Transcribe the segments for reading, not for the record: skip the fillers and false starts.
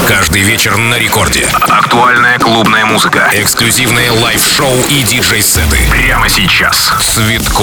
Каждый вечер на рекорде. Актуальная клубная музыка. Эксклюзивные лайв-шоу и диджей-сеты. Прямо сейчас. Цветков.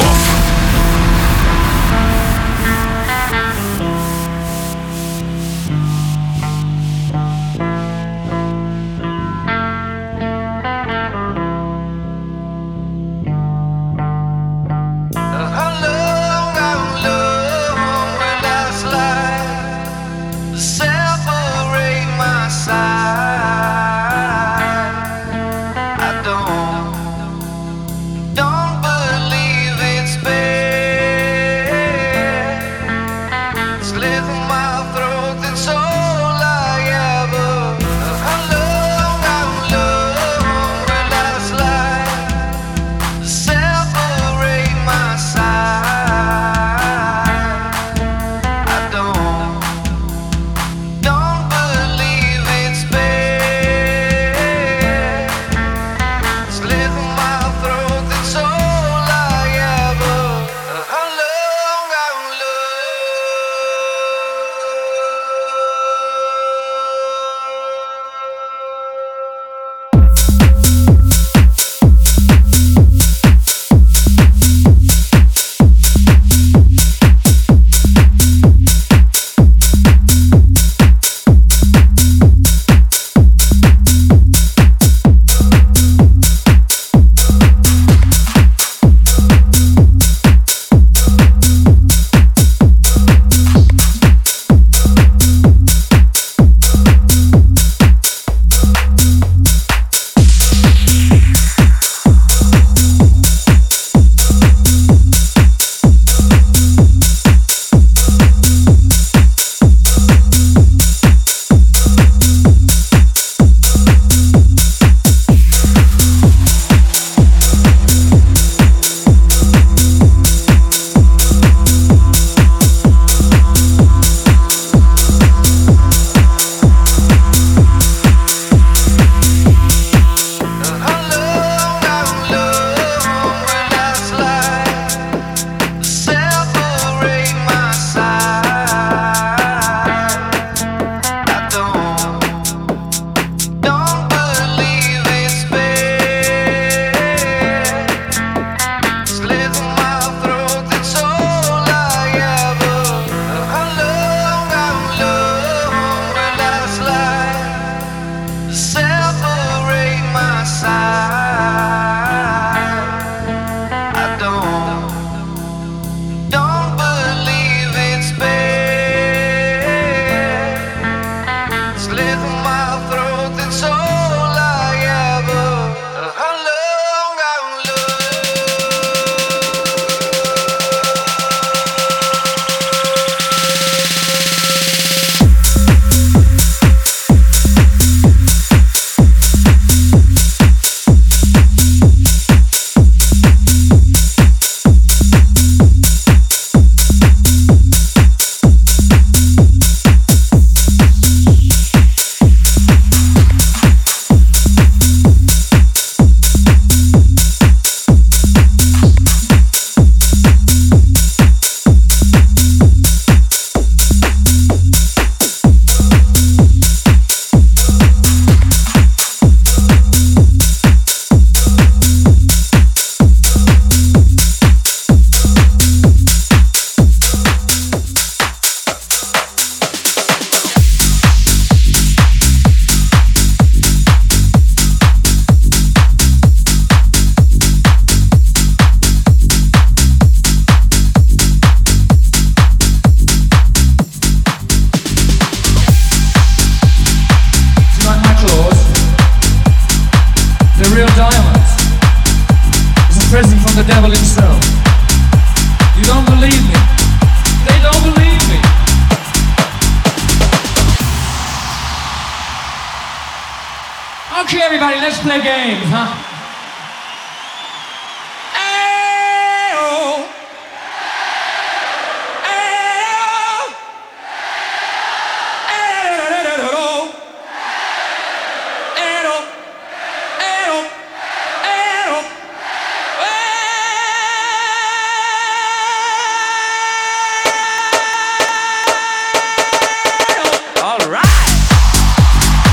All right.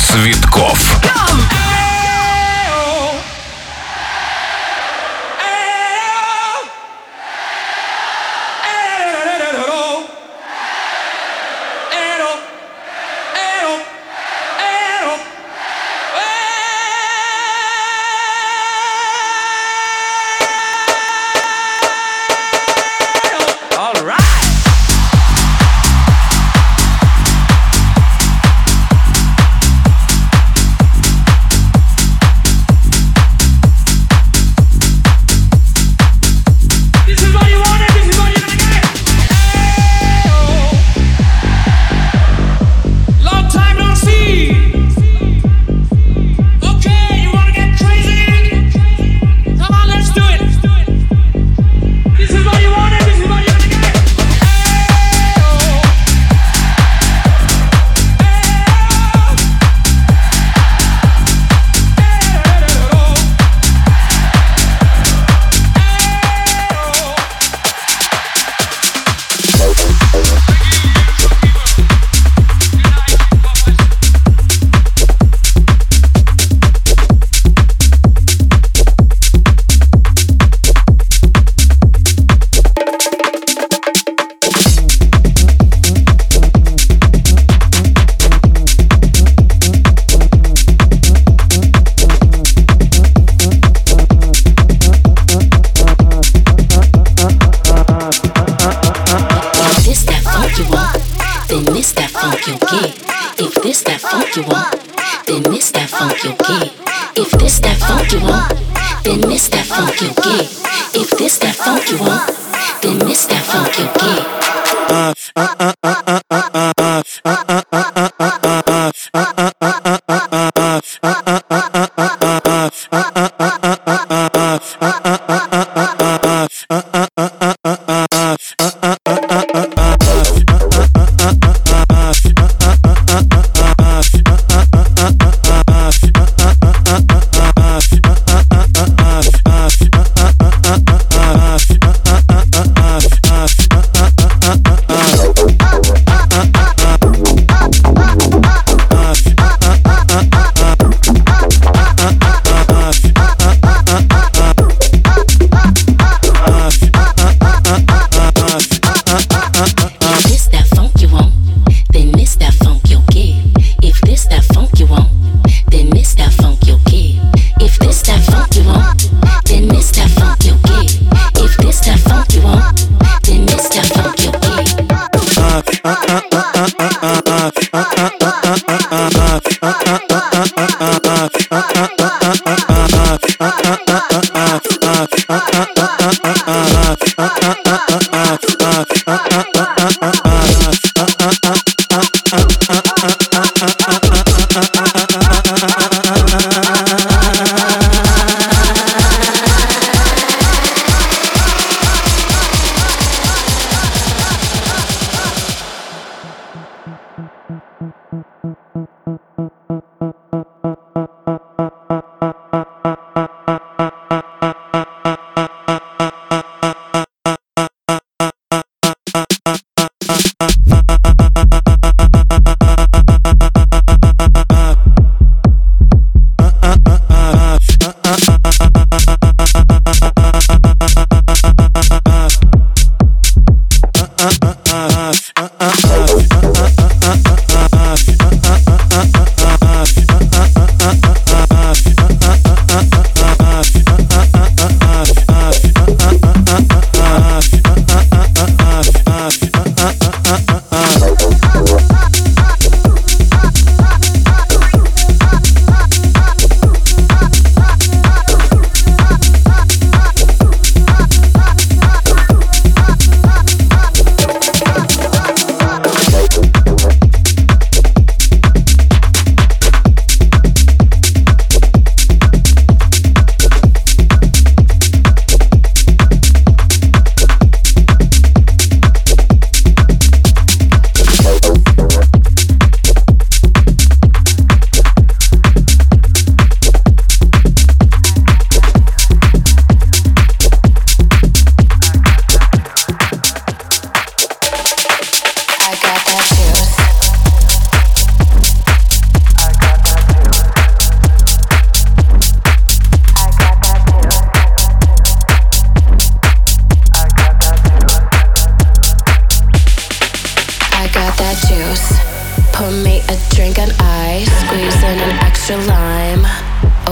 Цветков.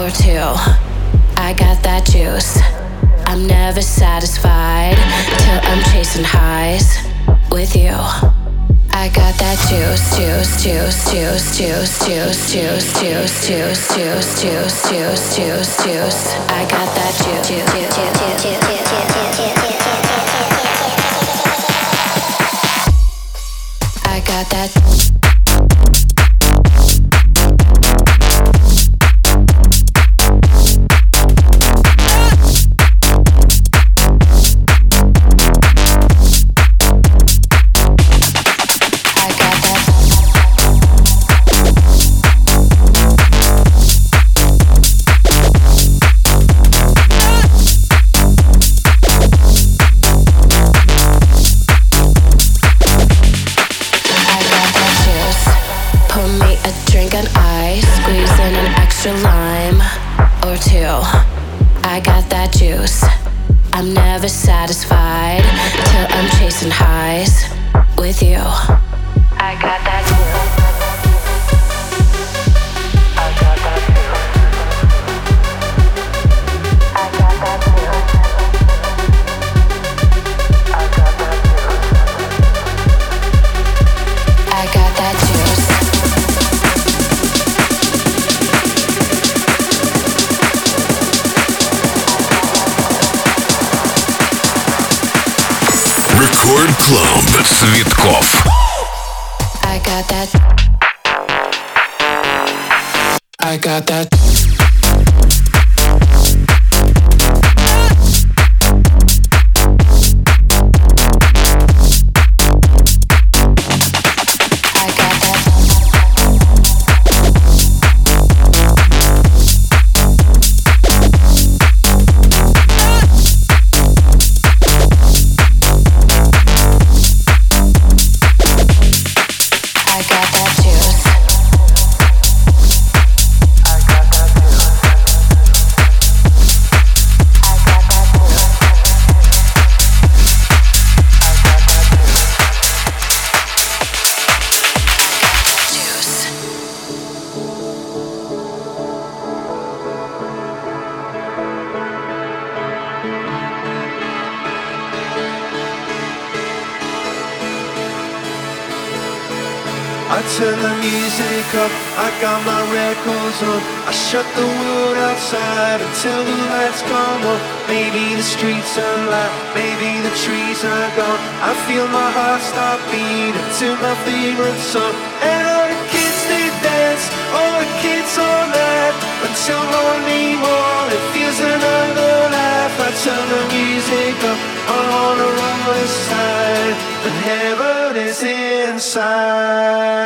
or two. I got that juice. I'm never satisfied till I'm chasing highs with you. I got that juice, juice, juice, juice, juice, juice, juice, juice, juice, juice, juice, juice, juice, juice. I got that juice. I got that. Lime or two. I got that juice. I'm never satisfied till I'm chasing highs with you. I got that juice. I got that juice. I got that juice. I got that juice. I got that juice. Рекорд Клуб Цветков. I got that. I got that. I turn the music up, I got my records on. I shut the world outside until the lights come on. Maybe the streets are light, maybe the trees are gone. I feel my heart start beating to my favorite song. And all the kids they dance, all the kids all night until morning morning feels another life. I turn the music up, I wanna roll this side, but heaven is inside.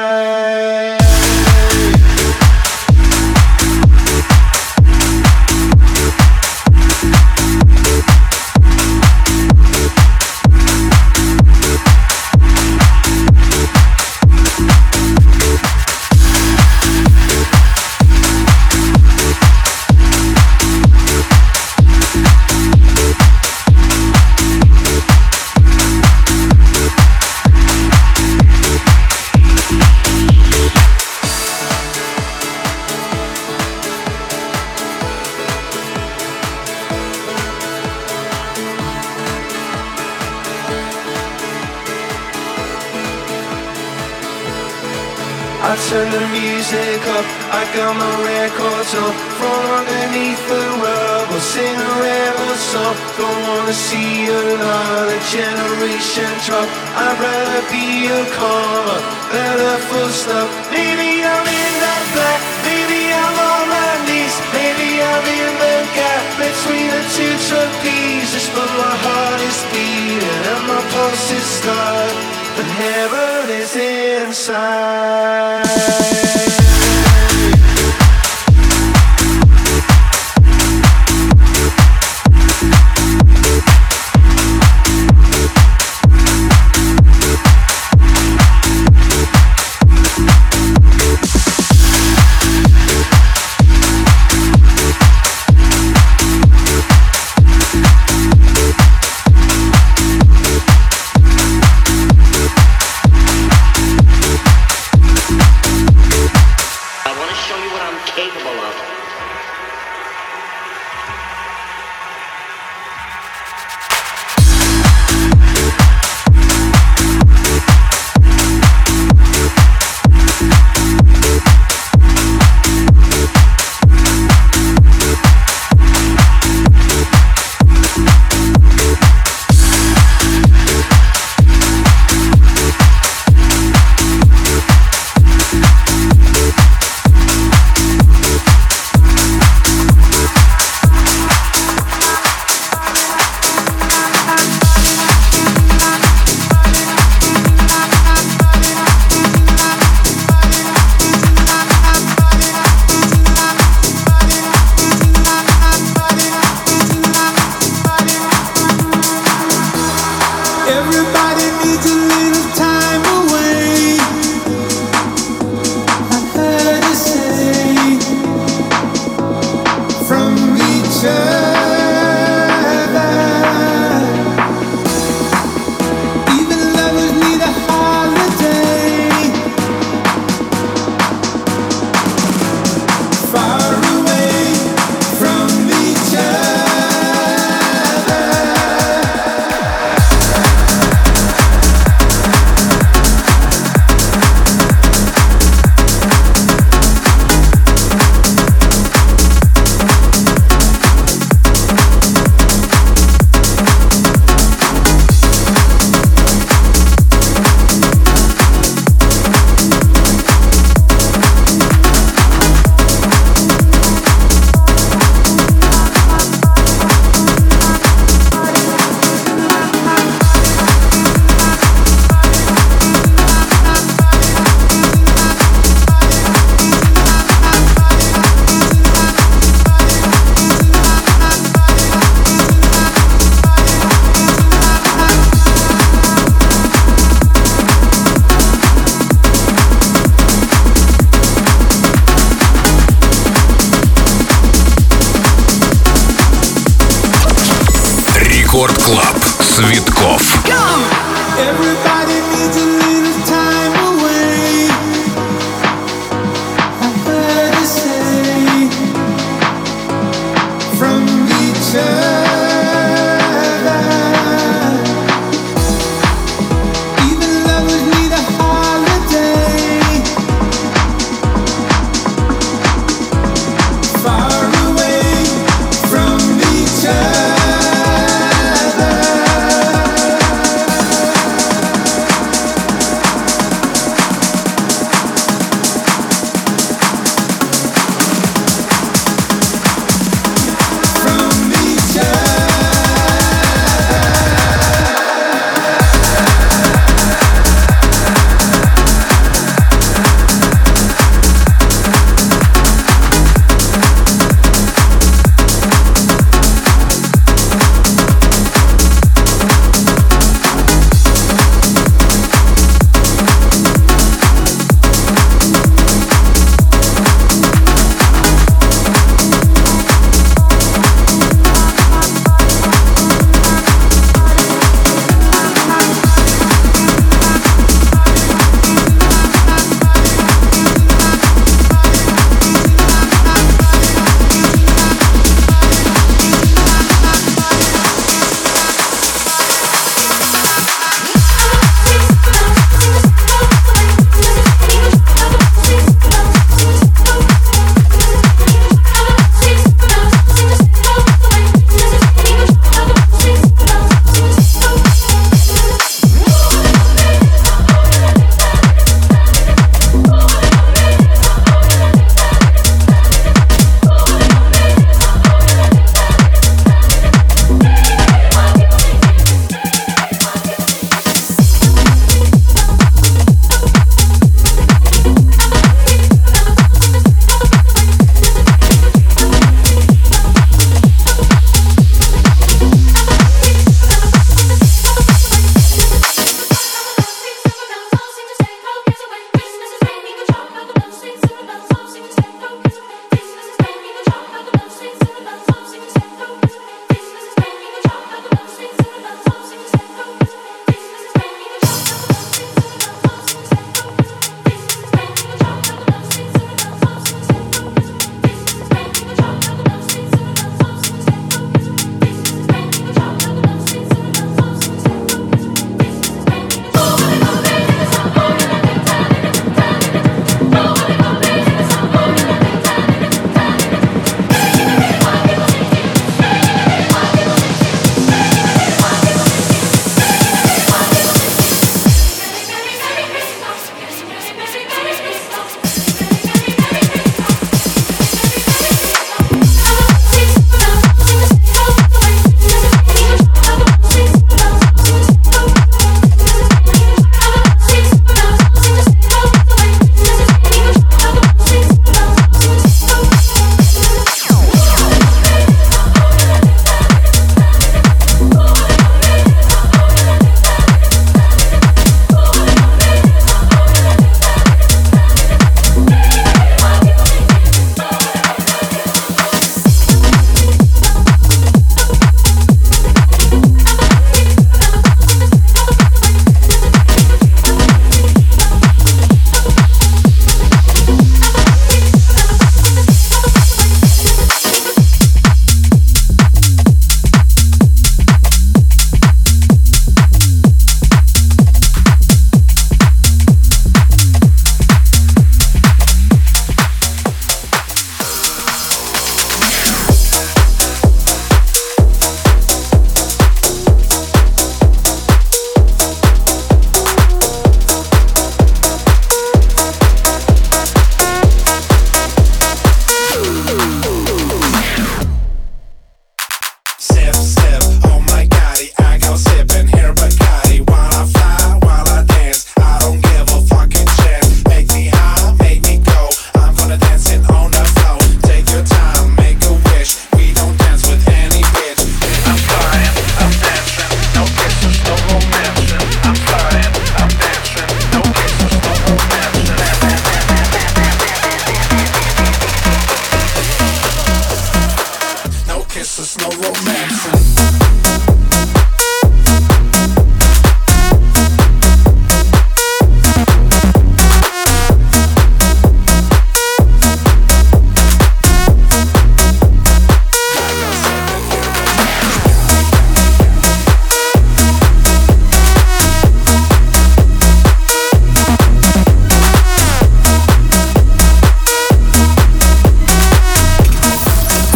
I turn the music up, I got my records on. From underneath the rug, we'll sing a rebel song. Don't wanna see another generation drop. I'd rather be a comma than a full stop. Maybe I'm in that black, maybe I'm on my knees. Maybe I'm in the gap between the two trapezes. But my heart is beating and my pulse is stuck, but heaven is inside. Рекорд Клаб. Цветков. Everybody needs a little time away. I've heard you say from each other. Even lovers need a holiday. Far away from each other.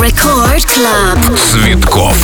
Record Club. Цветков.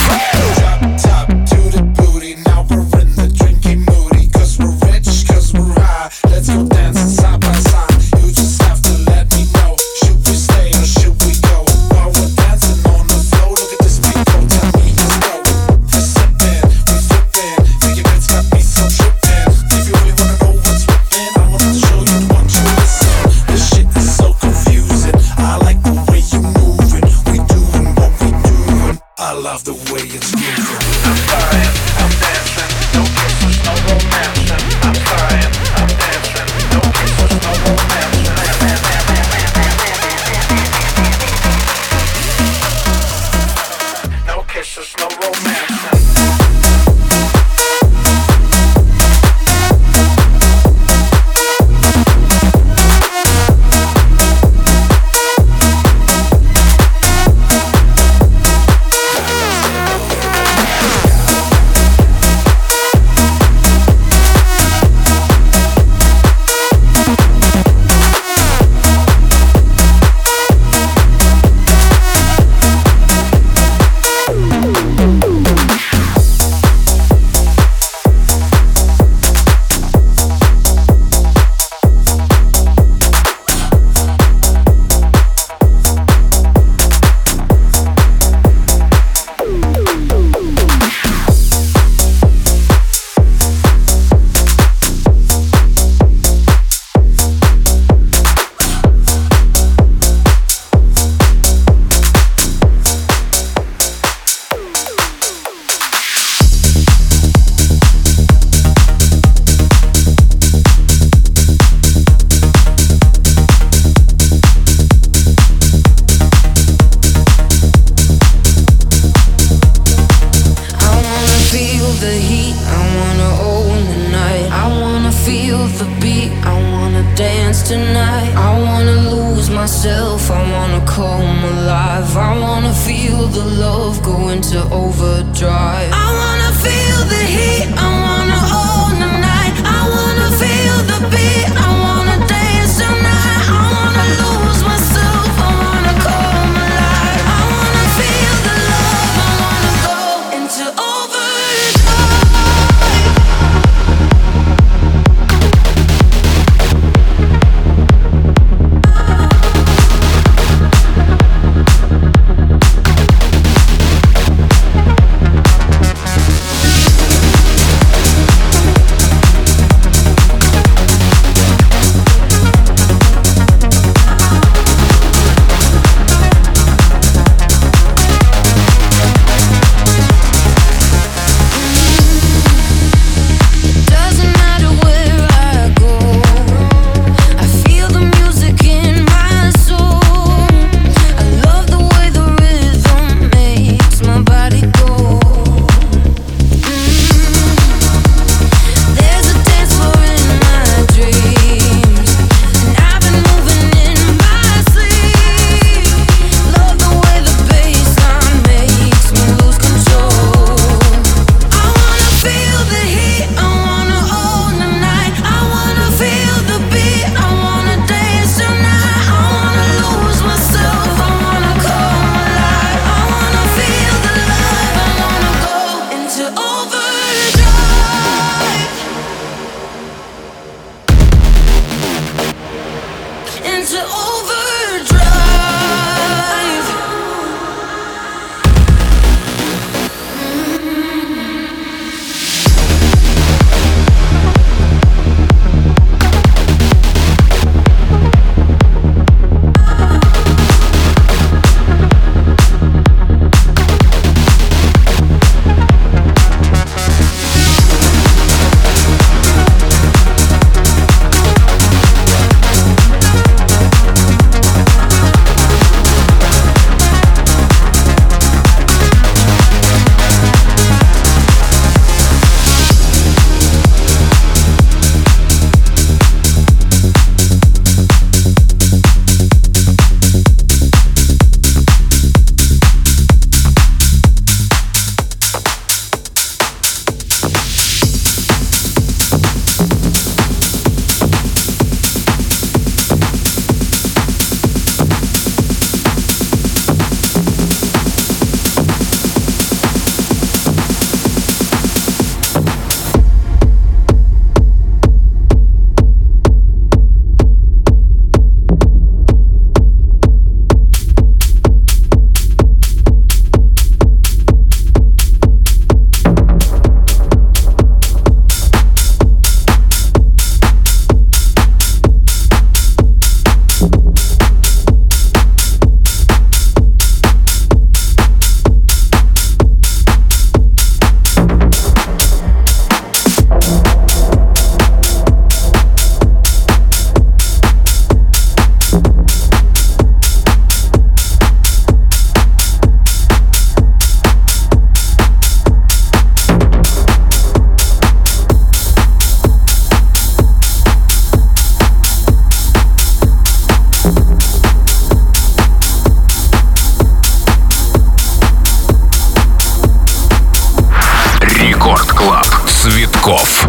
Поляков.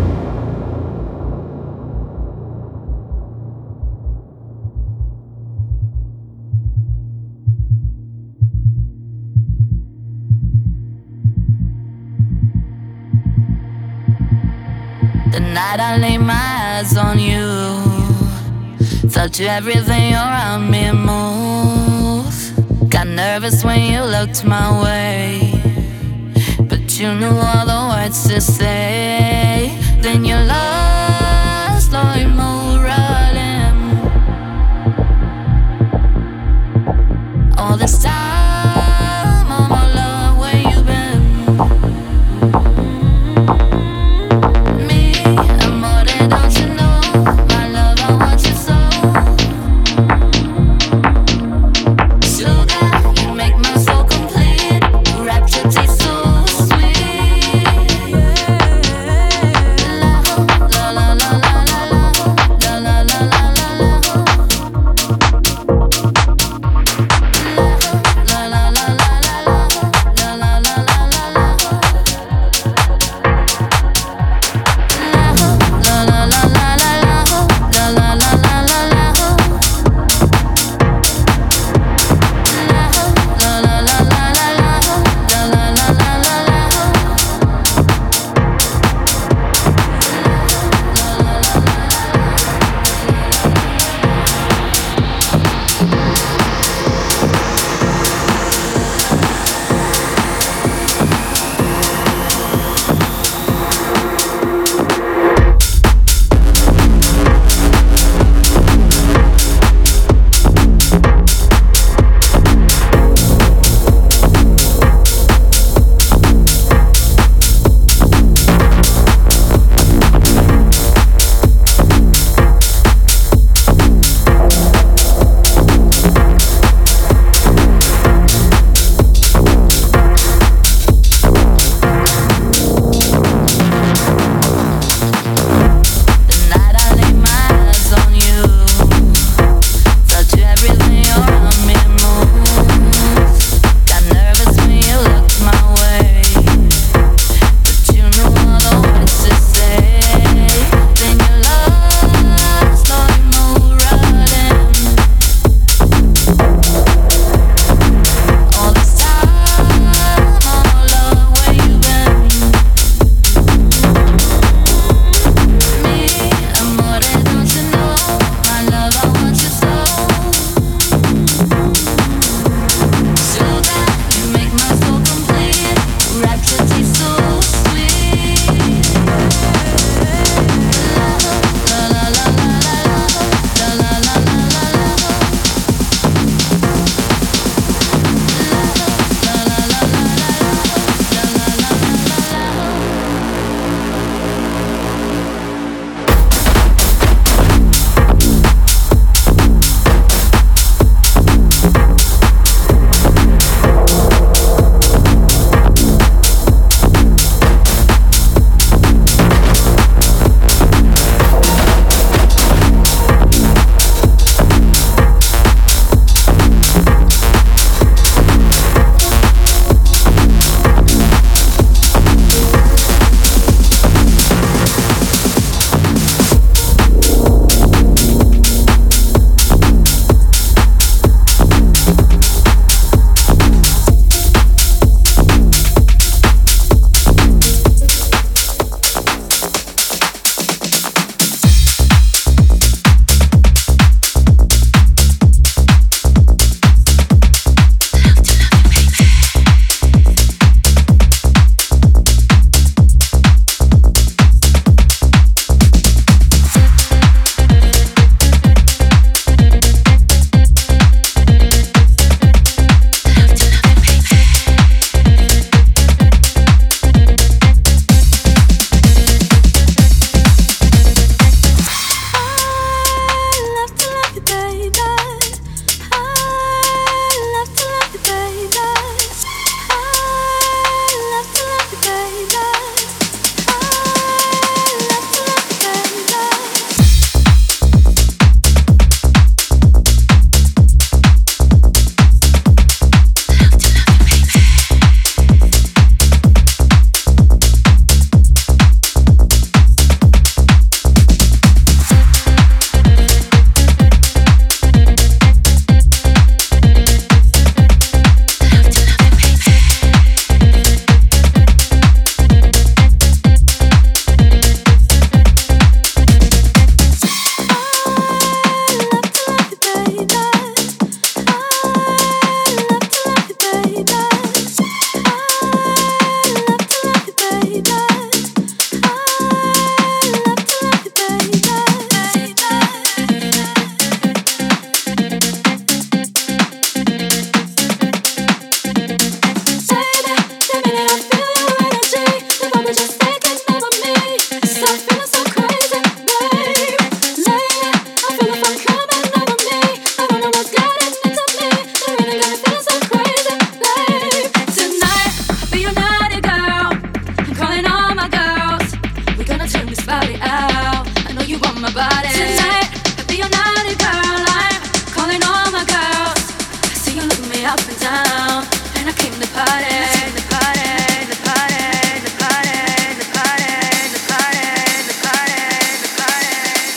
The night I laid my eyes on you, felt everything around me move. Got nervous when you looked my way, but you knew all the words to say. Then you lost, slowly move running. All this time, all my love, where you been? La up and down, and I came to party, the party, the party, the party, the party, the party, the party, the party,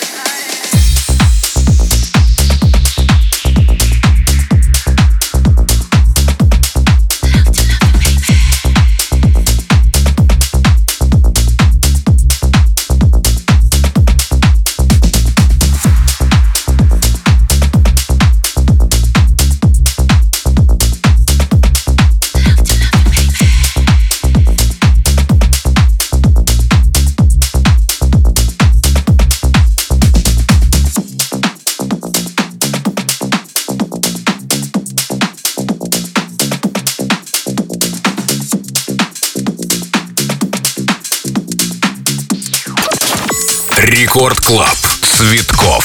Рекорд Клаб. Цветков.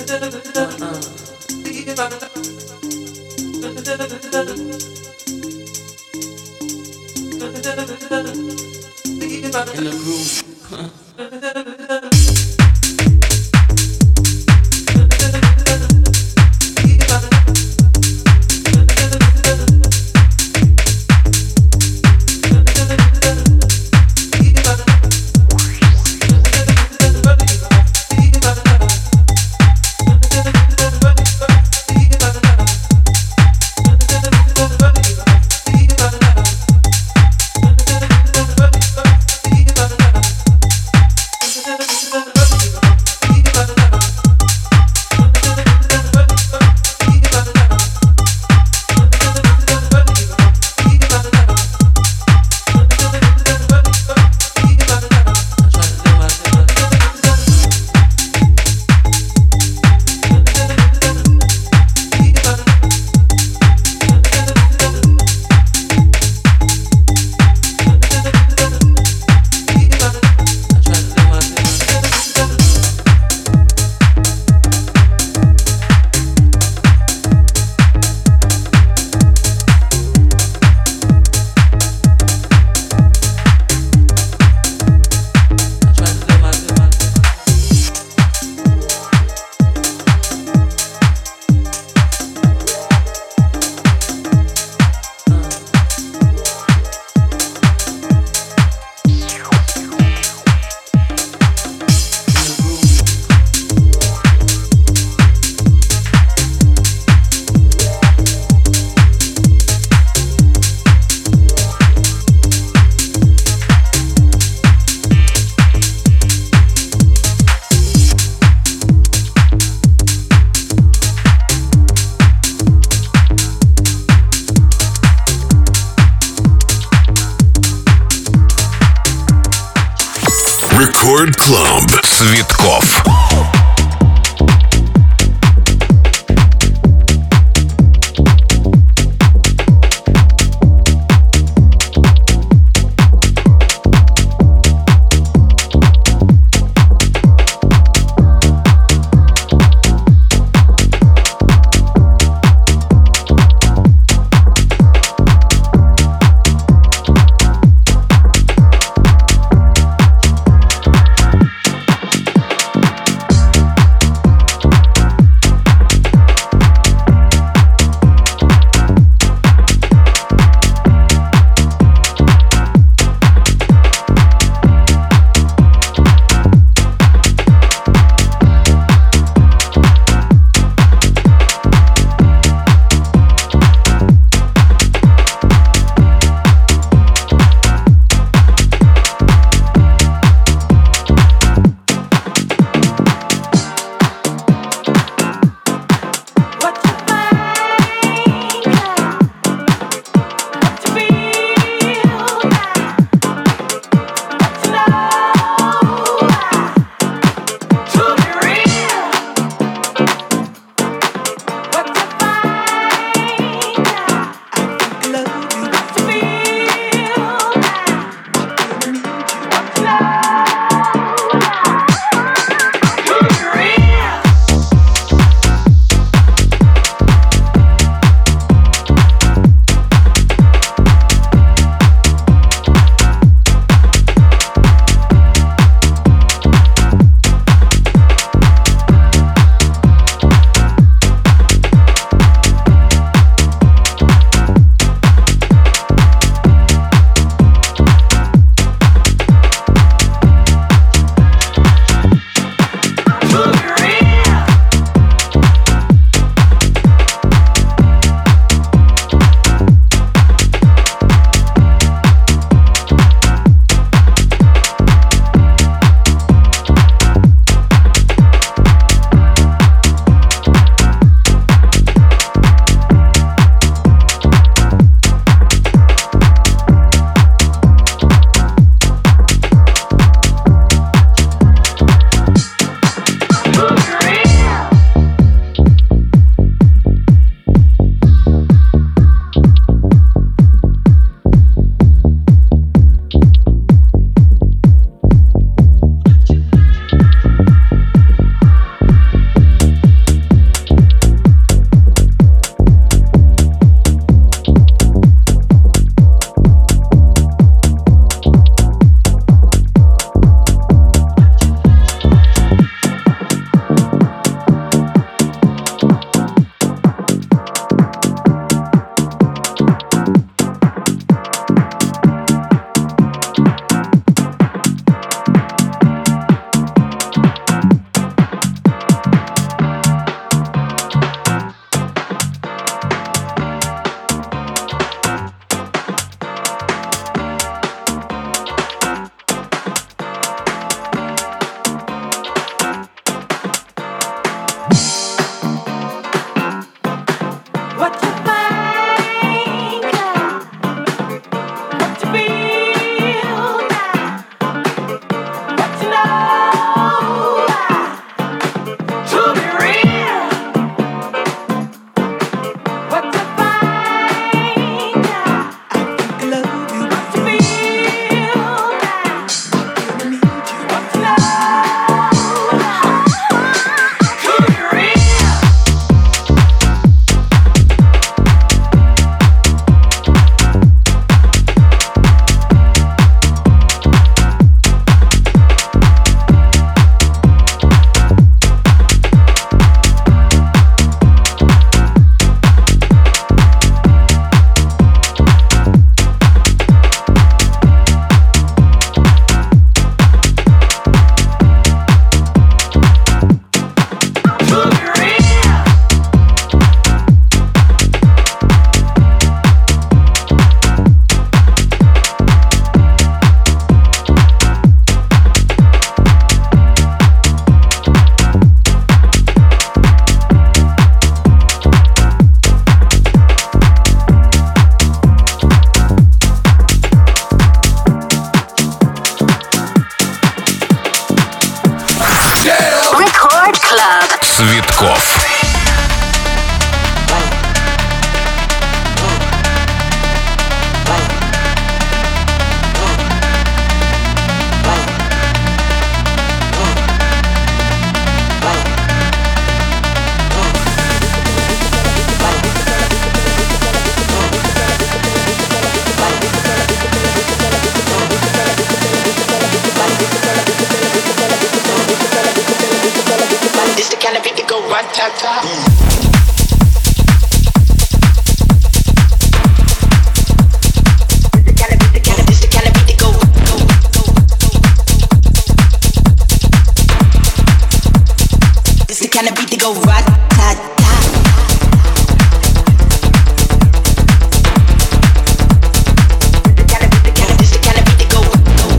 In the groove. Рекорд Клаб. Цветков. Цветков. This the kind of beat that go rat-tat-tat. Kind of beat to go right, tat, tat. This the kind of beat to go.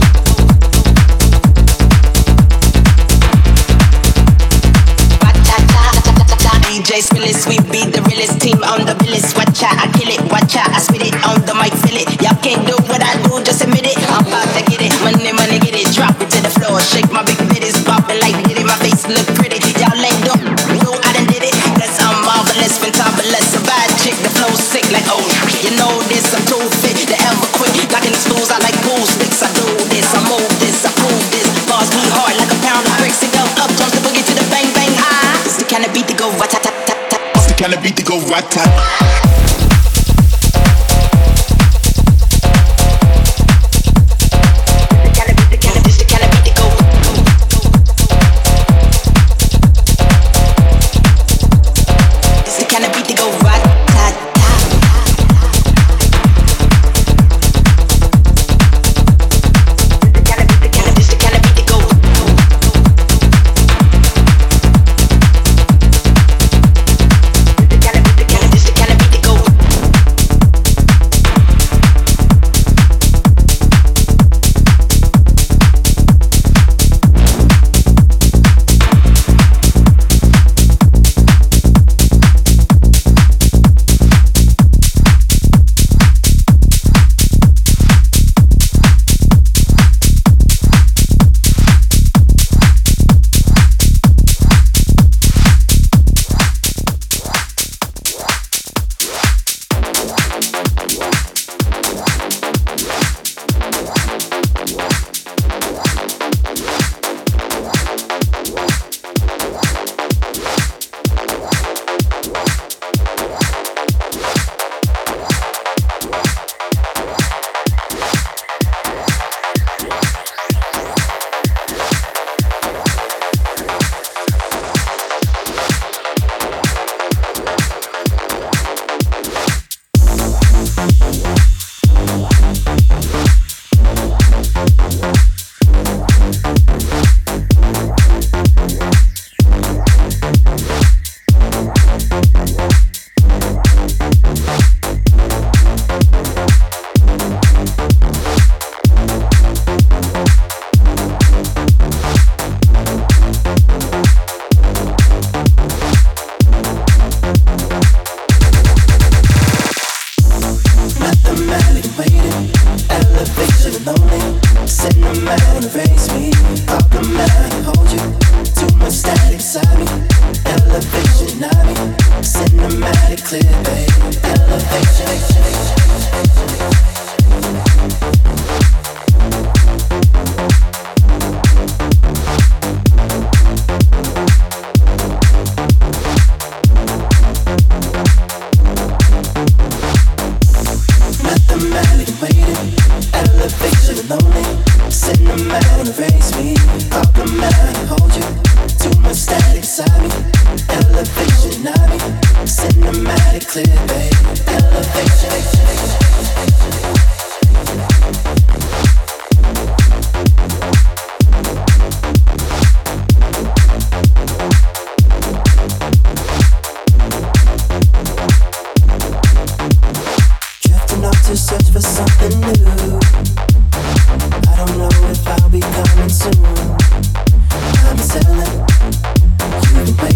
DJ Spillis, we be the realest team on the realest. Watch out, I kill it, watch out, I spit it on the mic, feel it. Y'all can't do what I do, just admit it. I'm about to get it, money, money, get it, drop it to the floor, shake my big bitties, bopping like get it, my face look pretty. Y'all ain't do, I done did it, cause I'm marvelous, fantabulous, a bad chick, the flow sick like oh, you know this, I'm too fit to ever quit. Locking the stools, I like pool sticks, I do this, I move this, I prove this. Bars me hard like a pound of bricks, and go up, jump the boogie to the bang bang high. It's the kind of beat to go right, tat tat tat tat. It's the kind of beat to go right, tat.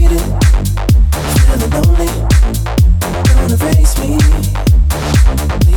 Feeling lonely, don't erase me.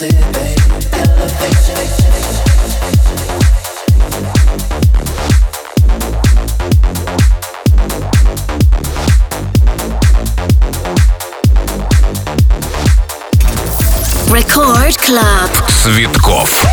Record Club. Цветков.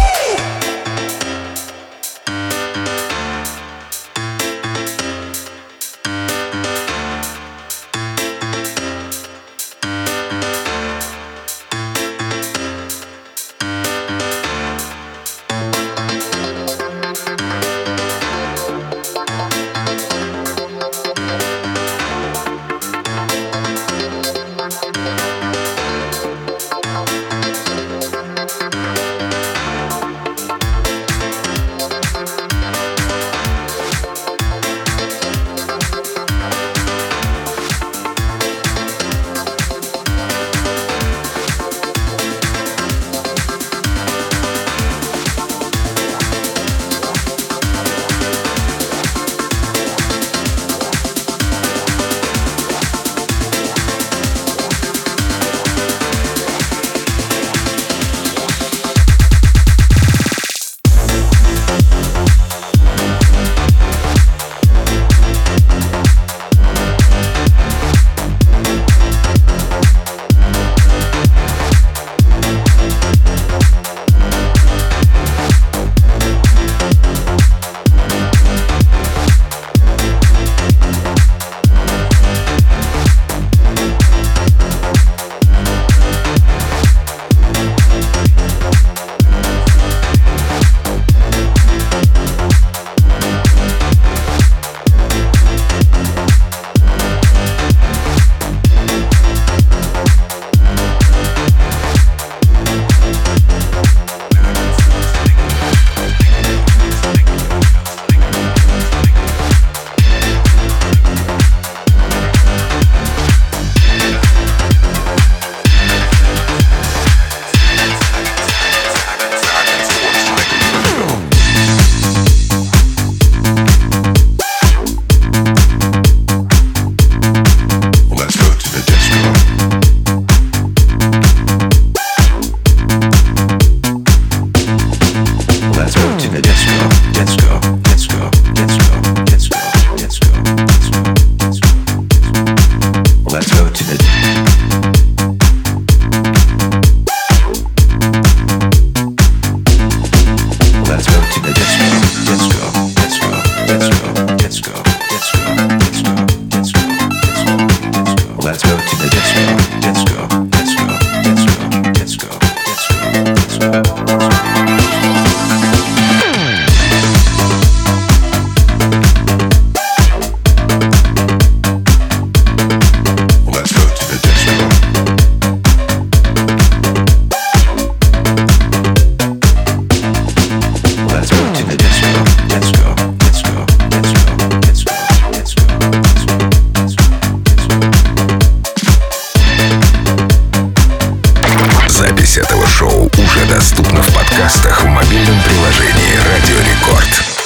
Запись этого шоу уже доступна в подкастах в мобильном приложении Радио Рекорд.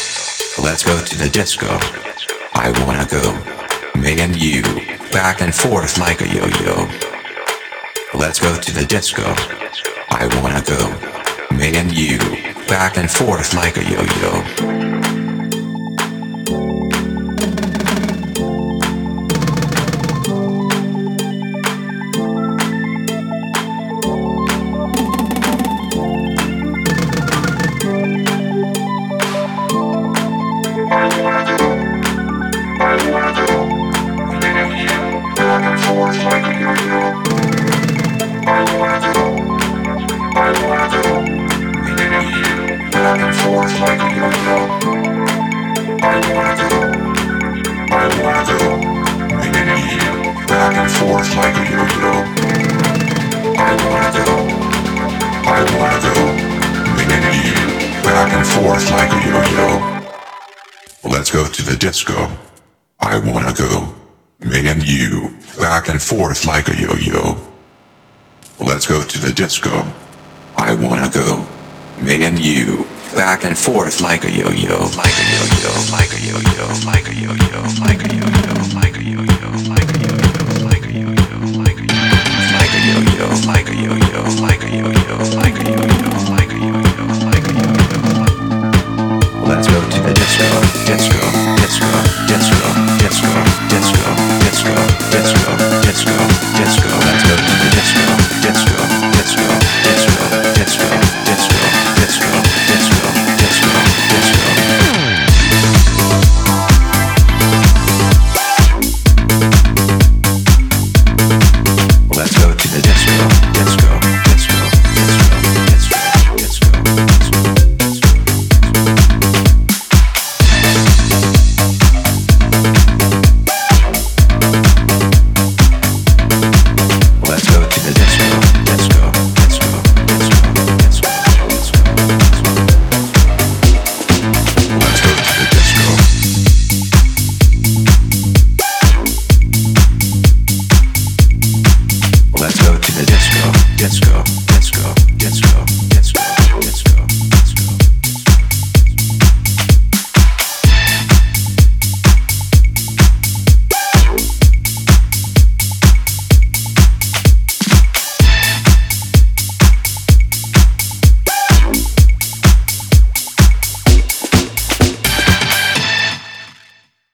Let's go to the disco. I wanna go. Me and you, back and forth like a yo-yo. Let's go to the disco. I wanna go. Me and you, back and forth like a yo-yo. Let's go to the disco. I wanna go. Me and you, back and forth like a yo-yo. Let's go to the disco. I wanna go. Me and you, back and forth like a yo-yo, like a yo-yo, like a yo-yo, like a yo-yo, like a yo-yo, like a yo-yo.